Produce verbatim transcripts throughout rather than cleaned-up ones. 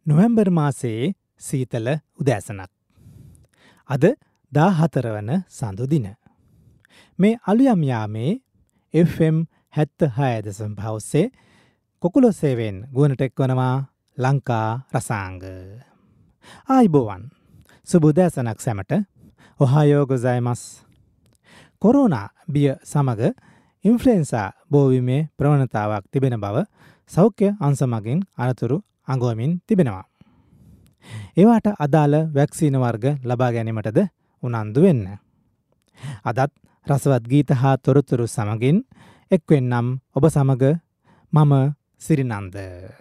නොවැම්බර් මාසයේ සීතල උදෑසනක්. අද දාහතර වන සඳු දින. මේ අලුයම් යාමේ එෆ් එම් හැත්තහය දශම පහ ඔස්සේ කොකුලොස්සේවෙන් ගුවනට එක්වනවා ලංකා රසාංග. ආයිබෝවන් සුබ උදෑසනක් සැමට ඔහායෝ ගොසයිමස්. කොරෝනා බිය සමග ඉන්ෆ්ලුවෙන්සා බෝවීමේ ප්‍රවණතාවක් තිබෙන බව සෞඛ්‍ය අංශ මගින් අනතුරු අඟවමින් තිබෙනවා. ඒවාට අදාළ වැක්සීන වර්ග ලබා ගැනීමටද උනන්දු වෙන්න. අදත් රසවත් ගීත හා තොරතුරු සමගින් එක්වෙන්නම් ඔබ සමග මම සිරිනන්ද.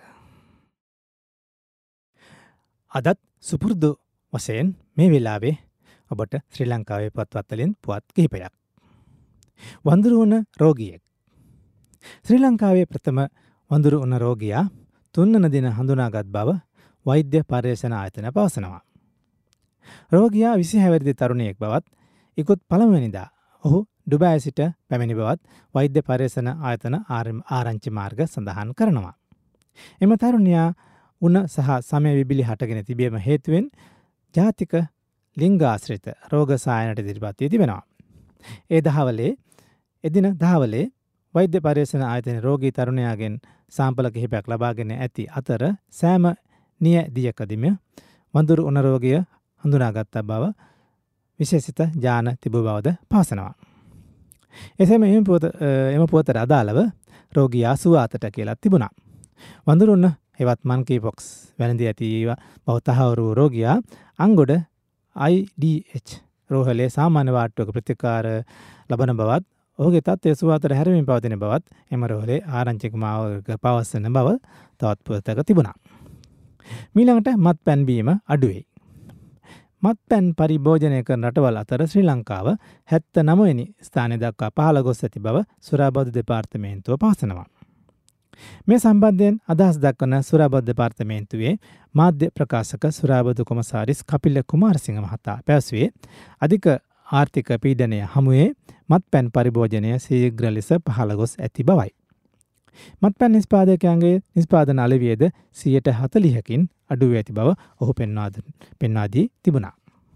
අදත් සුපුරුදු වශයෙන් මේ වෙලාවේ ඔබට ශ්‍රී ලංකාවේ පුවත්පත්වලින් පුවත් කිහිපයක්. වඳුරු වුණ රෝගියෙක්. ශ්‍රී ලංකාවේ ප්‍රථම වඳුරු වුණ රෝගියා තුන්වන දින හඳුනාගත් බව වෛද්‍ය පර්යේෂණ ආයතන පවසනවා. රෝගියා විසිහය වැනි තරුණයෙක් බවත් ඉකුත් පළමුවෙනිදා ඔහු ඩුබායි සිට පැමිණි බවත් වෛද්‍ය පර්යේෂණ ආයතන ආරංචි මාර්ග සඳහන් කරනවා. එම තරුණයා උණ සහ සමය විබිලි හටගෙන තිබීම හේතුවෙන් ජාතික ලිංගාශ්‍රිත රෝග සායනට ඉදිරිපත් වී තිබෙනවා. ඒ දහවලේ එදින දහවලේ වෛද්‍ය පර්යේෂණ ආයතන රෝගී තරුණයාගෙන් සාම්පල කිහිපයක් ලබාගෙන ඇති අතර සෑම නිය දියකදීම වඳුරු උණ රෝගය හඳුනාගත් බව විශේෂිත ඥාන තිබූ බවද පවසනවා. එසේම එම පුවත එම පුවතට අදාළව රෝගියා සුවාතට කියලා තිබුණා. වඳුරු උණ හෙවත් මන්කී පොක්ස් වැළඳී ඇති බව තහවුරු රෝගියා අංගොඩ ආයි ඩී එච් රෝහලේ සාමාන්‍ය වාට්ටුවක ප්‍රතිකාර ලබන බවත් ඔහුගේ තත්ත්වය සුවාතට හැරමින් පවතින බවත් එම රෝහලේ ආරංචික මාර්ග පවසන බව තවත් පුවතක තිබුණා. මීළඟට මත්පැන් බීම අඩුවේ. මත්පැන් පරිභෝජනය කරන රටවල් අතර ශ්‍රී ලංකාව හැත්තනව වෙනි ස්ථානය දක්වා පහළ ගොස් ඇති බව සුරාබදු දෙපාර්තමේන්තුව පවසනවා. මේ සම්බන්ධයෙන් අදහස් දක්වන සුරාබදු දෙපාර්තමේන්තුවේ මාධ්‍ය ප්‍රකාශක සුරාබදු කොමසාරිස් කපිල කුමාරසිංහ මහතා පැවසුවේ අධික ආර්ථික පීඩනය හමුවේ මත්පැන් පරිභෝජනය ශීඝ්‍ර ලෙස පහළ ගොස් ඇති බවයි. මත්පැන් නිෂ්පාදකයන්ගේ නිෂ්පාදන අලෙවියද සියයට හතළිහකින් අඩු වී ඇති බව ඔහු පෙන්වා දී තිබුණා.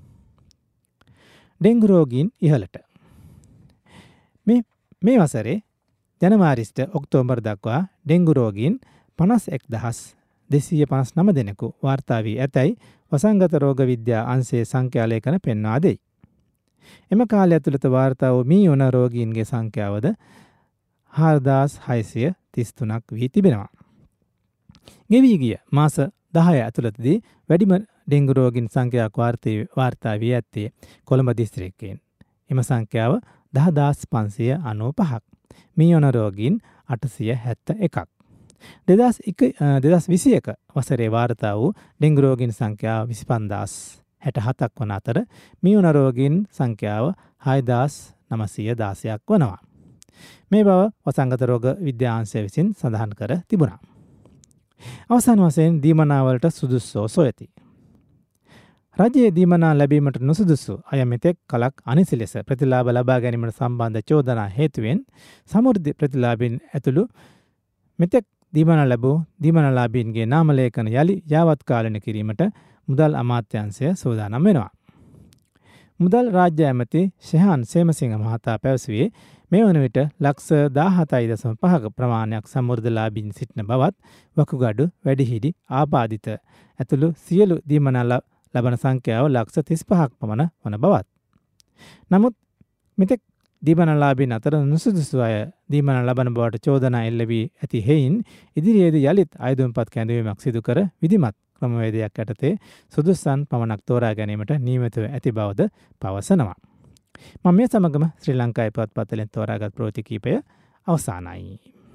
ඩෙන්ගු රෝගීන් ඉහළට. මේ මේ වසරේ ජනවාරිට ඔක්තෝබර් දක්වා ඩෙන්ගු රෝගීන් පනස් එක් දහස් දෙසීය පනස් නව දෙනෙකු වාර්තා වී ඇතැයි වසංගත රෝග විද්‍යා අංශයේ සංඛ්‍යාලේඛන පෙන්වා දෙයි. එම කාලය ඇතුළත වාර්තා වූ මී වුණ රෝගීන්ගේ සංඛ්‍යාවද හාරදාස් හයසිය තිස් තුනක් වී තිබෙනවා. ගෙවී ගිය මාස දහය ඇතුළතදී වැඩිම ඩෙන්ගු රෝගීන් සංඛ්‍යාවක් වාර්තා වී ඇත්තේ කොළඹ දිස්ත්‍රික්කයෙන්. එම සංඛ්‍යාව දහදාස් පන්සිය අනූ පහක්. මී වුණ රෝගීන් අටසිය හැත්ත එකක්. දෙදහස් විසි එක වසරේ වාර්තා වූ ඩෙන්ගු රෝගීන් සංඛ්‍යාව විසි පන්දාස් හැට හතක් වන අතර මී වුණ රෝගීන් සංඛ්‍යාව හයදාස් නවසිය දාසයක් වනවා. මේ බව වසංගත රෝග විද්‍යාංශය විසින් සඳහන් කර තිබුණා. අවසාන වශයෙන් දීමනාවලට සුදුස්සෝ සොයති. රජයේ දීමනා ලැබීමට නුසුදුසු අය මෙතෙක් කලක් අනිසි ලෙස ප්‍රතිලාභ ලබා ගැනීමට සම්බන්ධ චෝදනා හේතුවෙන් සමෘද්ධි ප්‍රතිලාභීන් ඇතුළු මෙතෙක් දීමනා ලැබූ දීමනාලාභීන්ගේ නාමලේඛන යළි යාවත්කාලන කිරීමට මුදල් අමාත්‍යාංශය සූදානම් වෙනවා. මුදල් රාජ්‍ය ඇමති ශෙහාන් සේමසිංහ මහතා පැවසුවේ මේ වන විට ලක්ෂ දාහතයි දශම පහක ප්‍රමාණයක් සමෘද්ධලාභීන් සිටින බවත් වකුගඩු වැඩිහිටි ආබාධිත ඇතුළු සියලු දීමනා ලබන සංඛ්‍යාව ලක්ෂ තිස් පහක් පමණ වන බවත්. නමුත් මෙතෙක් දීමනාලාභීන් අතර නුසුදුසු අය දීමනා ලබන බවට චෝදනා එල්ල වී ඇති හේයින් ඉදිරියේදී යළිත් අයදුම්පත් කැඳවීමක් සිදු කර විධිමත් ක්‍රමවේදයක් යටතේ සුදුස්සන් පමණක් තෝරා ගැනීමට නියමිතව ඇති බවද පවසනවා. මම මේ සමගම ශ්‍රී ලංකාවේ පුවත්පත්වලින් තෝරාගත් ප්‍රවෘත්ති කිහිපය අවසానයි.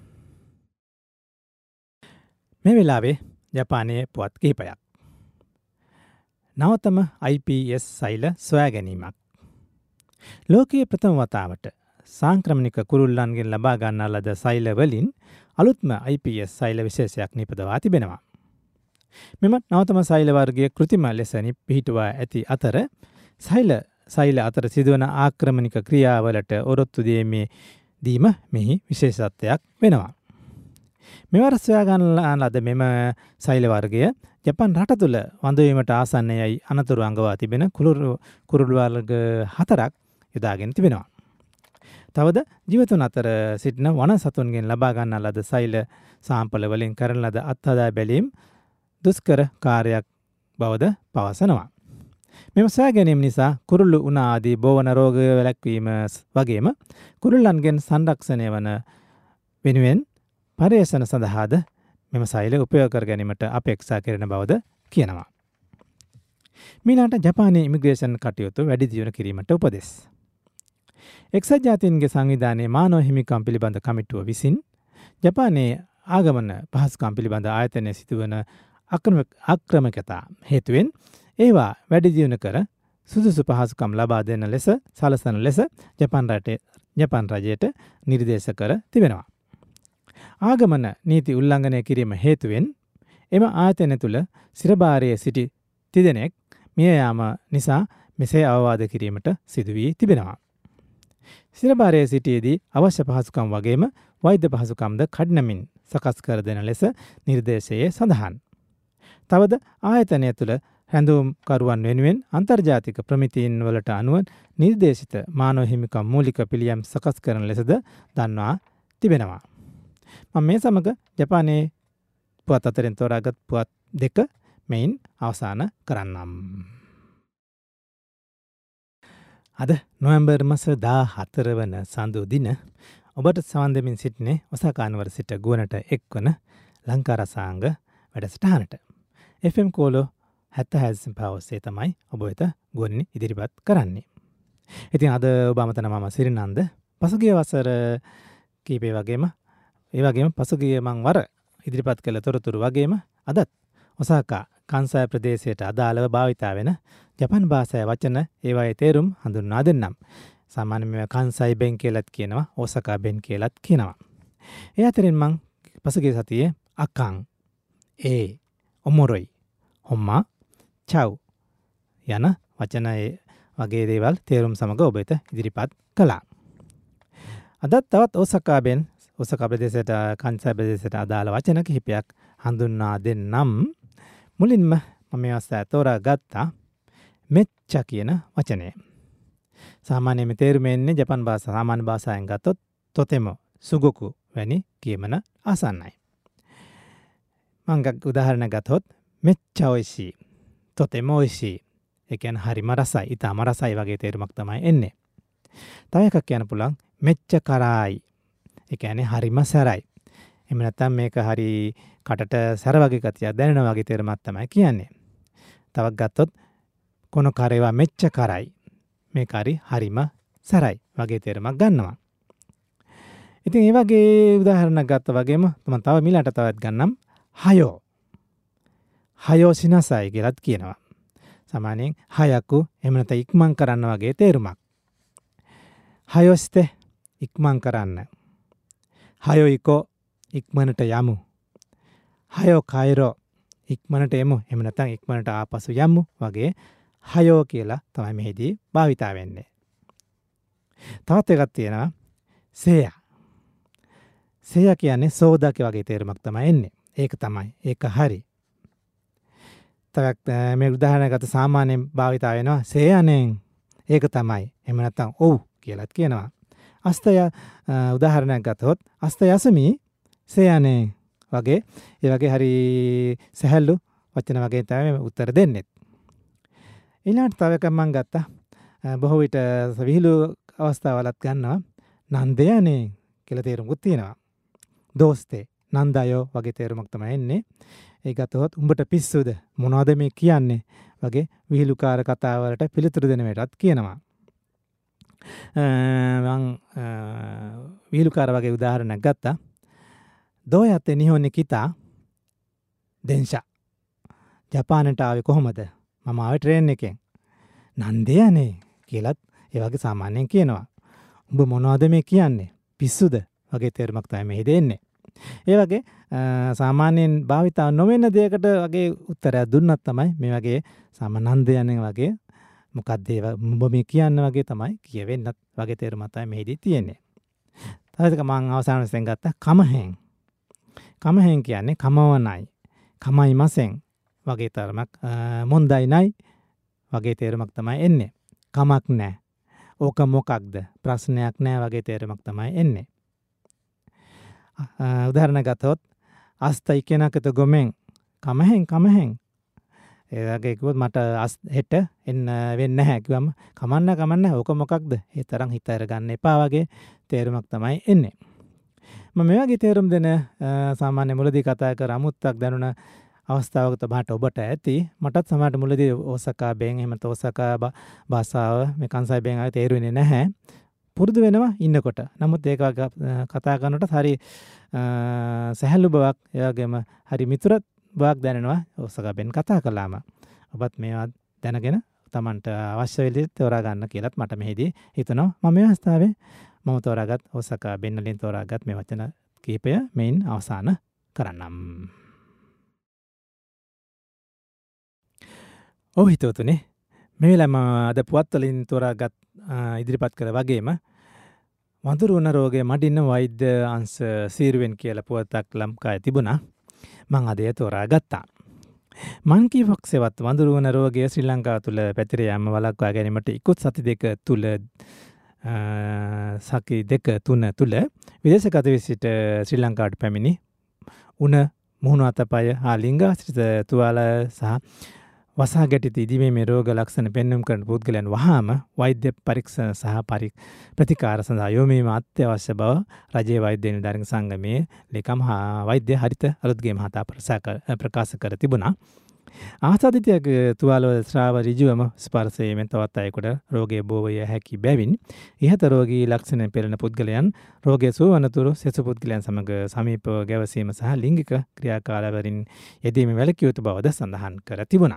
මේ වෙලාවේ ජපානයේ පුවත් කිහිපයක්. නවතම ආයි පී එස් සෛල සොයා ගැනීමක්. ලෝකයේ ප්‍රථම වතාවට සංක්‍රමණික කුරුල්ලන්ගෙන් ලබා ගන්නා ලද සෛල වලින් අලුත්ම ආයි පී එස් සෛල විශේෂයක් නිපදවා තිබෙනවා. මෙම නවතම සෛල වර්ගයේ කෘතිම ලෙස පිහිටුවා ඇති අතර සෛල සෛල අතර සිදුවන ආක්‍රමණික ක්‍රියාවලට ඔරොත්තු දීමේ දීම මෙහි විශේෂත්වයක් වෙනවා. මෙවර සොයා ගන්න ලද මෙම සෛල වර්ගය ජපාන් රට තුළ වඳවීමට ආසන්නයයි අනතුරු අඟවා තිබෙන කුරුළු කුරුළු වර්ග හතරක් යොදාගෙන තිබෙනවා. තවද ජීවතුන් අතර සිටින වන සතුන්ගෙන් ලබා ගන්නා ලද සෛල සාම්පල වලින් කරන ලද අත්හදා බැලීම් දුෂ්කර කාර්යයක් බවද පවසනවා. මෙම සොයා ගැනීම නිසා කුරුළු උණ ආදී බෝවන රෝග වැළැක්වීම වගේම කුරුල්ලන්ගෙන් සංරක්ෂණය වන වෙනුවෙන් පර්යේෂණ සඳහාද මෙම සෛල උපයෝග කර ගැනීමට අපේක්ෂා කරන බවද කියනවා. මීළඟට ජපානයේ ඉමිග්‍රේෂන් කටයුතු වැඩි දියුණු කිරීමට උපදෙස්. එක්සත් ජාතීන්ගේ සංවිධානයේ මානව හිමිකම් පිළිබඳ කමිටුව විසින් ජපානයේ ආගමන පහසුකම් පිළිබඳ ආයතනයේ සිදුවන අක්‍රමිකතා හේතුවෙන් ඒවා වැඩි දියුණු කර සුදුසු පහසුකම් ලබා දෙන ලෙස සලසන ලෙස ජපාන් රටේ ජපාන් රජයට නිර්දේශ කර තිබෙනවා. ආගමන නීති උල්ලංඝනය කිරීම හේතුවෙන් එම ආයතන තුළ සිරභාරයේ සිටි තිදෙනෙක් මිය යාම නිසා මෙසේ අවවාද කිරීමට සිදු වී තිබෙනවා. සිරභාරයේ සිටියේදී අවශ්‍ය පහසුකම් වගේම වෛද්‍ය පහසුකම්ද කඩිනමින් සකස් කර දෙන ලෙස නිර්දේශයේ සඳහන්. තවද ආයතනය තුළ හැඳුම්කරුවන් වෙනුවෙන් අන්තර්ජාතික ප්‍රමිතීන් වලට අනුව නිර්දේශිත මානව හිමිකම් මූලික පිළියම් සකස් කරන ලෙසද දන්වා තිබෙනවා. මම මේ සමග ජපානයේ පුවත් අතරින් තෝරාගත් පුවත් දෙක මෙයින් අවසන් කරන්නම්. අද නොවැම්බර් මාස දාහතර වන සඳු දින ඔබට සවන් දෙමින් සිටිනේ ඔසාකා නුවර සිට ගුවනට එක්වන ලංකා රසාංග වැඩසටහනට. එෆ් එම් කෝලෝ හැත්තෑ හය පවසේ තමයි ඔබ වෙත ගුවනින් ඉදිරිපත් කරන්නේ. ඉතින් අද ඔබ අමතන මම සිරිනන්ද පසුගිය වසර කීපේ වගේම ඒ වගේම පසුගිය මං වර ඉදිරිපත් කළ තොරතුරු වගේම අදත් ඔසාකා කාන්සයි ප්‍රදේශයට අදාළව භාවිතා වෙන ජපාන් භාෂාවේ වචන ඒවායේ තේරුම් හඳුන්වා දෙන්නම්. සාමාන්‍යයෙන් මේවා කාන්සයි බෙන් කියලාත් කියනවා, ඔසාකා බෙන් කියලාත් කියනවා. ඒ අතරින් මං පසුගිය සතියේ අකං, ඒ, ඔමොරොයි, හොම්මා, චව් යන වචන වගේ දේවල් තේරුම් සමග ඔබ වෙත ඉදිරිපත් කළා. අදත් තවත් ඔසාකා බෙන් ඔසාකා ප්‍රදේශයට කාන්සයි ප්‍රදේශයට අදාළ වචන කිහිපයක් හඳුන්වා දෙන්නම්. මුලින්ම මම මේ අවස්ථාවේ තෝරා ගත්තා මෙච්චා කියන වචනය. සාමාන්‍යයෙන් තේරුම එන්නේ ජපාන් භාෂා සාමාන්‍ය භාෂාවෙන් ගත්තොත් තොතෙම සුගොකු වැනි කියමන ආසන්නයි. මම උදාහරණ ගත්තොත් මෙච්චා ඔයිෂී, තොතෙම ඔයිෂී. ඒ කියන්නේ හරිම රසයි, ඊටම රසයි වගේ තේරුමක් තමයි එන්නේ. තව එකක් කියන්න පුළුවන් මෙච්ච කරායි. ඒ කියන්නේ හරිම සැරයි. එහෙම නැත්නම් මේක හරි කටට සැර වගේ ගතියක් දැනෙන වගේ තේරුමක් තමයි කියන්නේ. තවක් ගත්තොත් කොන කරේවා මෙච්ච කරයි. මේක හරි හරිම සැරයි වගේ තේරුමක් ගන්නවා. ඉතින් මේ වගේ උදාහරණයක් ගත්තා වගේම මම තව මිලට තවත් ගන්නම් හයෝ. හයෝ සිනසයි කියලාත් කියනවා. සාමාන්‍යයෙන් හයකු එහෙම නැත්නම් ඉක්මන් කරන්න වගේ තේරුමක්. හයොස්තේ ඉක්මන් කරන්න. හයොයිකෝ ඉක්මනට යමු. හයෝ කයිරෝ ඉක්මනට එමු. එහෙම නැත්නම් ඉක්මනට ආපසු යමු වගේ හයෝ කියලා තමයි මෙහිදී භාවිතා වෙන්නේ. තවත් එකක් තියෙනවා සේයා. සේයා කියන්නේ සෝදාක වගේ තේරුමක් තමයි එන්නේ. ඒක තමයි. ඒක හරි. තවත් මේ උදාහරණයකට සාමාන්‍යයෙන් භාවිතා වෙනවා සේයානෙන්. ඒක තමයි. එහෙම නැත්නම් ඔව් කියලාත් කියනවා. අස්තය උදාහරණයක් ගත්තොත් අස්තය යසමි සේයානේ වගේ ඒ වගේ හරි සහැල්ලු වචන වගේ තමයි උත්තර දෙන්නේ. ඊළඟට තව එකක් මම ගත්තා. බොහෝ විට විහිළු අවස්ථාවලත් ගන්නවා නන්දයනේ කියලා තේරුමකුත් තියෙනවා. දෝස්තේ නන්දයෝ වගේ තේරුමක් තමයි එන්නේ. ඒ ගත්තොත් උඹට පිස්සුද මොනවද මේ කියන්නේ වගේ විහිළුකාර කතාවලට පිළිතුරු දෙන මේටත් කියනවා. මං විහිළුකාර වගේ උදාහරණයක් ගත්තා. දෝයත්තේ නිහොන්නේ කිතා දෙන්ෂා. ජපානට ආවේ කොහොමද? මම ආවේ ට්‍රේන් එකෙන්. නන්දයනේ කියලත් ඒ වගේ සාමාන්‍යයෙන් කියනවා. උඹ මොනවද මේ කියන්නේ? පිස්සුද? වගේ තේරුමක් තමයි මෙහි දෙන්නේ. ඒ වගේ සාමාන්‍යයෙන් භාවිතා නොවන දෙයකට වගේ උත්තරයක් දුන්නත් තමයි මේ වගේ සාමානන්දයනේ වගේ මොකක්ද ඒ උඹ මේ කියන්න වගේ තමයි කියවෙන්නත් වගේ තේරුමක් තමයි මෙහිදී තියෙන්නේ. තව එක මම අවසාන වශයෙන් ගත්තා කමහෙන්. කමහෙන් කියන්නේ කමවනයි, කමයිමසෙන් වගේ තරමක් මොන්දයි නයි වගේ තේරුමක් තමයි එන්නේ. කමක් නැහැ. ඕක මොකක්ද? ප්‍රශ්නයක් නැහැ වගේ තේරුමක් තමයි එන්නේ. උදාහරණ ගත්තොත් අස්තයි කෙනකත ගොමෙන් කමහෙන් කමහෙන් ඒ වගේ කිව්වොත් මට අස් හෙට එන්න වෙන්නේ නැහැ කිව්වම කමන්න කමන්න ඕක මොකක්ද? ඒ තරම් හිත අරගන්න එපා වගේ තේරුමක් තමයි එන්නේ. මම මේ වගේ තේරුම් දෙන සාමාන්‍ය මුලදී කතා කර අමුත්තක් දැනුණ අවස්ථාවක තමයි ඔබට ඇති. මටත් සමහරට මුලදී ඕසකා බෙන් එහෙම තෝසකා භාෂාව මේ කන්සයි බෙන් ආයේ තේරුනේ නැහැ. පුරුදු වෙනවා ඉන්නකොට. නමුත් ඒක කතා කරනකොට හරි සහැල්ලු බවක්, ඒ වගේම හරි මිතුරත් බවක් දැනෙනවා ඕසකා බෙන් කතා කළාම. ඔබත් මේවා දැනගෙන Tamanට අවශ්‍ය විදිහට තෝරා ගන්න කියලාත් මට මෙහිදී හිතෙනවා. මම මේ අවස්ථාවේ මම තෝරාගත් ඕසකා බෙන් වලින් තෝරාගත් මේ වචන කීපය මෙයින් අවසන් කරන්නම්. ඔව් හිතවතුනි, මේ වෙලාවම අද පුවත් වලින් තෝරාගත් ඉදිරිපත් කළ වගේම වඳුරු වන රෝගයේ මඩින්න වෛද්‍ය අංශ සීරුවෙන් කියලා පුවතක් ලංකාවේ තිබුණා. මම අද ඒ තෝරාගත්තා. මන්කී පොක්ස් එවත් වඳුරු වන රෝගය ශ්‍රී ලංකාව තුල පැතිර යාම වළක්වා ගැනීමට ඉක්ුත් සති දෙක තුල සති දෙක තුන තුල විදේශගත වී සිට ශ්‍රී ලංකාවට පැමිණි උණ මුහුණු අතපය හා ලිංගාශ්‍රිත තුවාල සහ වසා ගැටි ඉදිමේ රෝග ලක්ෂණ පෙන්වීම කරන පුද්ගලයන් වහාම වෛද්‍ය පරීක්ෂණ සහ ප්‍රතිකාර සඳහා යොමු වීම අත්‍යවශ්‍ය බව රජයේ වෛද්‍ය නිලධාරීන් සංගමයේ ලේකම් වෛද්‍ය හරිත අලුත්ගේ මහතා ප්‍රකාශ කර තිබුණා. ආසාදිතයක තුවාල ස්‍රාව ඍජුවම ස්පර්ශයෙන් තවත් අයෙකුට රෝගයේ බෝ විය හැකි බැවින් ඉහත රෝගී ලක්ෂණ පෙළෙන පුද්ගලයන් රෝගයේ සුවනතුරු සෙසු පුද්ගලයන් සමග සමීපව ගැවසීම සහ ලිංගික ක්‍රියාකාරවලින් යෙදීම වැළකී යුතු බවද සඳහන් කර තිබුණා.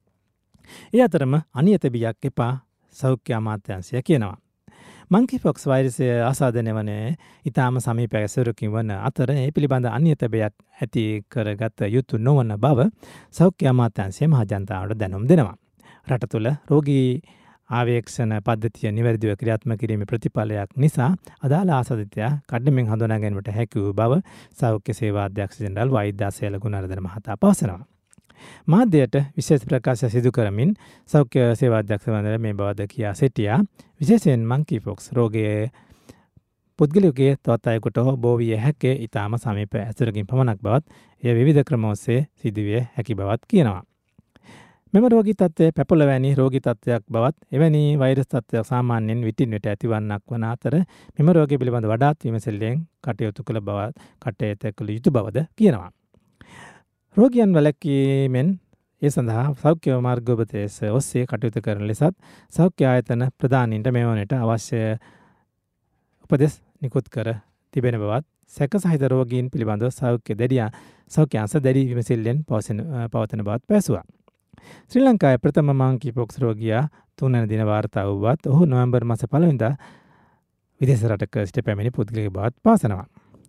ඒ අතරම අනියත බියක් එපා සෞඛ්‍ය අමාත්‍යාංශය කියනවා. මන්කී පොක්ස් වෛරසය ආසාදනය වන ඉතාම සමීප ඇසුරකින් වන අතර ඒ පිළිබඳ අනියත බයක් ඇති කරගත යුතු නොවන බව සෞඛ්‍ය අමාත්‍යාංශය මහජනතාවට දැනුම් දෙනවා. රට තුළ රෝගී ආවේක්ෂණ පද්ධතිය නිවැරදිව ක්‍රියාත්මක කිරීමේ ප්‍රතිඵලයක් නිසා අදාළ ආසාදිතයා කඩමින් හඳුනා ගැනීමට හැකි වූ බව සෞඛ්‍ය සේවා අධ්‍යක්ෂ ජෙනරාල් වෛද්‍ය අසේල ගුණවර්ධන මහතා පවසනවා. මාධ්‍යයට විශේෂ ප්‍රකාශ සිදු කරමින් සෞඛ්‍ය සේවා අධ්‍යක්ෂ වන්දන මේ බවද කියා සිටියා. විශේෂයෙන් මන්කී පොක්ස් රෝගයේ පුද්ගලයෙකුගේ තවත් අයෙකුට බෝ විය හැකි ඊටාම සමීප ඇසුරකින් පමණක් බවත් එය විවිධ ක්‍රම ඔස්සේ සිදුවිය හැකි බවත් කියනවා. මෙම රෝගී තත්ත්වය පැපොළ වැනි රෝගී තත්ත්වයක් බවත් එවැනි වෛරස් තත්ත්වයක් සාමාන්‍යයෙන් විටින් විට ඇතිවන්නක් වන අතර මෙම රෝගය පිළිබඳ වඩාත් විමසෙල්ලෙන් කටයුතු කළ බව කටයුතු කළ යුතු බවද කියනවා. රෝගියන් වැළැක්වීමෙන් ඒ සඳහා සෞඛ්‍ය මාර්ගෝපදේශ ඔස්සේ කටයුතු කරන ලෙසත් සෞඛ්‍ය ආයතන ප්‍රධානීන්ට මෙවනට අවශ්‍ය උපදෙස් නිකුත් කර තිබෙන බවත් සැක සහිත රෝගීන් පිළිබඳව සෞඛ්‍ය දැඩිය සෞඛ්‍ය අංශ දැඩි විමසිල්ලෙන් පවතින බවත් පැවසුවා. ශ්‍රී ලංකාවේ ප්‍රථම මන්කී පොක්ස් රෝගියා තුන්වන දින වාර්තා වුවත් ඔහු නොවැම්බර් මාස පළවෙනිදා විදේශ රටක සිට පැමිණි පුද්ගලයෙකු බවත් පවසනවා.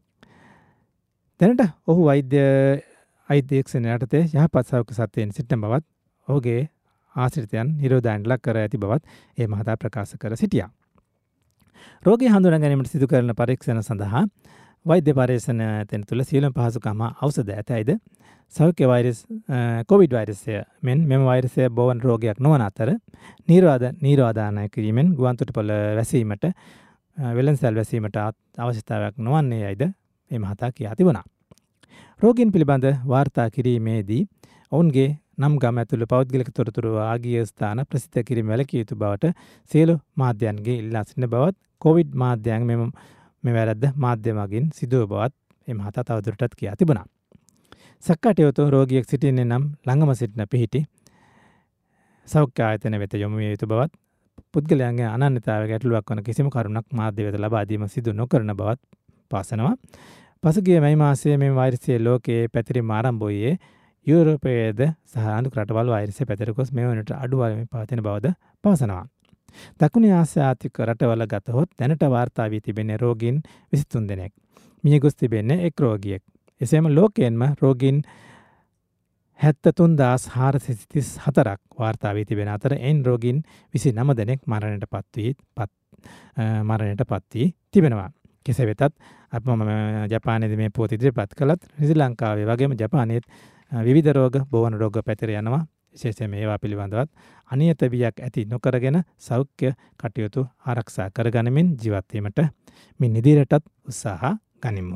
දැනට ඔහු වෛද්‍ය අධ්‍යක්ෂණ යටතේ යහපත් සෞඛ්‍ය සත්‍යයෙන් සිටින බවත් ඔහුගේ ආශ්‍රිතයන් නිරෝධයන්ට ලක් කර ඇති බවත් ඒ මහතා ප්‍රකාශ කර සිටියා. රෝගී හඳුනා ගැනීමට සිදු කරන පරීක්ෂණ සඳහා වෛද්‍ය පරීක්ෂණ තැන් තුළ සියලුම පහසුකම් ඖෂධ ඇතැයිද සෞඛ්‍ය වෛරස් කොවිඩ් වෛරසය මෙන් මෙම වෛරසය බෝවන රෝගයක් නොවන අතර නිරෝධ නිරෝධානය කිරීමෙන් ගුවන්තොටුපළ වැසීමට වෙළඳසැල් වැසීමට අවශ්‍යතාවයක් නොවන්නේ යයිද මේ මහතා කියා තිබුණා. රෝගීන් පිළිබඳ වාර්තා කිරීමේදී ඔවුන්ගේ නම් ගම ඇතුළු පෞද්ගලික තොරතුරු ආගිය ස්ථාන ප්‍රසිද්ධ කිරීම වැළකී යුතු බවට සියලු මාධ්‍යයන්ගේ ඉල්ලා සිටින බවත් කොවිඩ් මාධ්‍යයන් මෙම මේ වැරද්ද මාධ්‍ය මගින් සිදුව බවත් මේ මහතා තවදුරටත් කියා තිබුණා. සක්කටයුතු රෝගියෙක් සිටින්නේ නම් ළඟම සිටින පිහිටි සෞඛ්‍ය ආයතන වෙත යොමු විය යුතු බවත් පුද්ගලයන්ගේ අනන්‍යතාවය ගැටලුවක් වන කිසිම කරුණක් මාධ්‍ය වෙත ලබා දීම සිදු නොකරන බවත් පවසනවා. පසුගිය මැයි මාසයේ මේ වෛරසය ලෝකයේ පැතිරීම ආරම්භ වූයේ යුරෝපයේද සහ අනෙක් රටවල් වෛරසය පැතිර ගොස් මේ වනට අඩු වශයෙන් පවතින බවද පවසනවා. දකුණු ආසියාතික රටවල ගතහොත් දැනට වාර්තා වී තිබෙන රෝගීන් විසිතුන් දෙනෙක්. මිය ගොස් තිබෙන්නේ එක් රෝගියෙක්. එසේම ලෝකයෙන්ම රෝගීන් හැත්තතුන් දහස් හාරසිය තිස් හතරක් වාර්තා වී තිබෙන අතර එයින් රෝගීන් විසිනම දෙනෙක් මරණයට පත් වී පත් මරණයට පත් වී තිබෙනවා. කෙසේ වෙතත් අප මම ජපානයේදී මේ පුවත ඉදිරිපත් කළත් ශ්‍රී ලංකාවේ වගේම ජපානයේත් විවිධ රෝග බෝවන රෝග පැතිර යනවා. විශේෂයෙන් මේවා පිළිබඳවත් අනියත බියක් ඇති නොකරගෙන සෞඛ්‍ය කටයුතු ආරක්ෂා කරගනිමින් ජීවත් වීමට මින් ඉදිරියටත් උත්සාහ ගනිමු.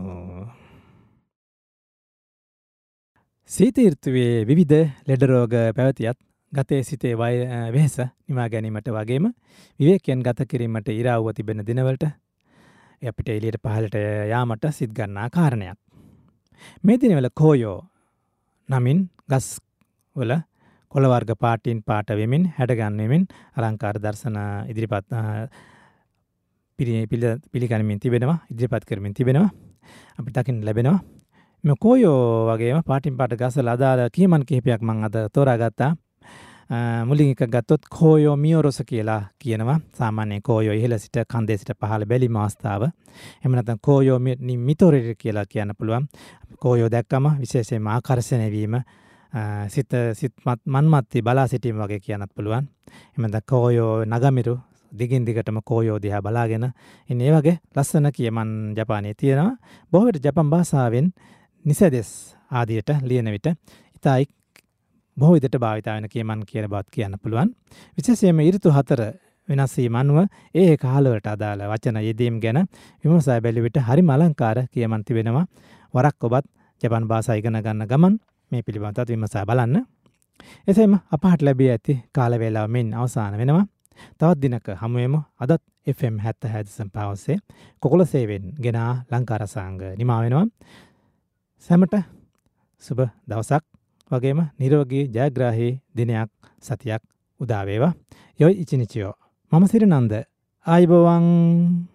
සීත ඍතුවේ විවිධ ලෙඩ රෝග පැවතියත් ගතේ සිතේ වෙහෙස නිවා ගැනීමට වගේම විවේකයෙන් ගත කිරීමට ඉරාවුව තිබෙන දිනවලට අපිට එළියට පහළට යාමට සිත් ගන්නා කාරණයක්. මේ දිනවල කෝයෝ නමින් ගස් වල කොළ වර්ග පාටින් පාට වෙමින් හැඩගන් වෙමින් අලංකාර දර්ශන ඉදිරිපත් පිළිගනිමින් තිබෙනවා ඉදිරිපත් කරමින් තිබෙනවා අපිට දකින්න ලැබෙනවා. මේ කෝයෝ වගේම පාටින් පාට ගස්වල අදාළ කියමන් කිහිපයක් මම අද තෝරාගත්තා. මුලින් එක ගත්තොත් කෝයෝ මියොරොස කියලා කියනවා. සාමාන්‍යයෙන් කෝයෝ ඉහළ සිට කන්දේ සිට පහළ බැලීම අවස්ථාව. එහෙම නැත්නම් කෝයෝ මිතොරෙරි කියලා කියන්න පුළුවන්. කෝයෝ දැක්කම විශේෂයෙන්ම ආකර්ෂණය වීම සිත සිත් මන්මත්ති බලා සිටීම වගේ කියන්නත් පුළුවන්. එහෙම නැත්නම් කෝයෝ නගමිරු දිගින් දිගටම කෝයෝ දිහා බලාගෙන ඉන්නේ. ඒ වගේ ලස්සන කියමන් ජපානයේ තියෙනවා. බොහෝ විට ජපන් භාෂාවෙන් නිසදෙස් ආදියට ලියන විට ඉතයි බොහෝ විට භාවිත වෙන කියමන් කියන බවත් කියන්න පුළුවන්. විශේෂයෙන්ම ඍතු හතර වෙනස් වීම අනුව ඒ ඒ කාලවලට අදාළ වචන යෙදීම් ගැන විමසා බැලුව විට හරිම අලංකාර කියමන් තිබෙනවා. වරක් ඔබත් ජපන් භාෂාව ඉගෙන ගන්න ගමන් මේ පිළිබඳව විමසා බලන්න. එසේම අපහට ලැබී ඇති කාල වේලාව මෙන් අවසන් වෙනවා. තවත් දිනක හමු වෙමු. අදත් එෆ් එම් හැත්තෑ දශම පහ ඔස්සේ කොකොළ සේවෙන් ගෙන ලංකා රසාංග නිමා වෙනවා. සැමට සුබ දවසක් වගේම නිරෝගී ජයග්‍රාහී දිනයක් සතියක් උදා වේවා. යොයි ඉචිනිචියෝ. මම සිරිනන්ද ආයුබෝවන්.